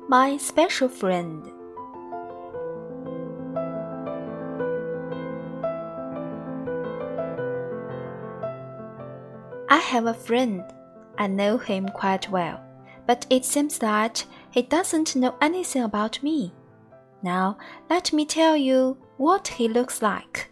My special friend. I have a friend. I know him quite well, but it seems that he doesn't know anything about me. Now, let me tell you what he looks like.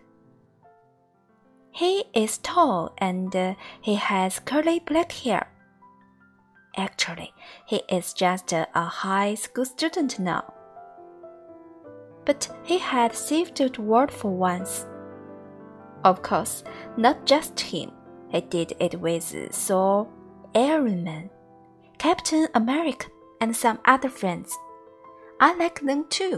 He is tall and he has curly black hair. Actually, he is just a high school student now. But he had saved the world for once. Of course, not just him. He did it with Thor, Iron Man, Captain America, and some other friends. I like them too.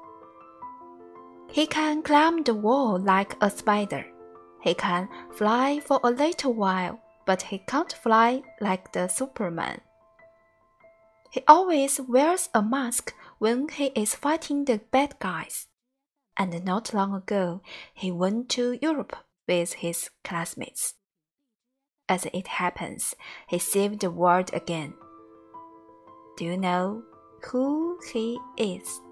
He can climb the wall like a spider. He can fly for a little while, but he can't fly like the Superman. He always wears a mask when he is fighting the bad guys. And not long ago, he went to Europe with his classmates. As it happens, he saved the world again. Do you know who he is?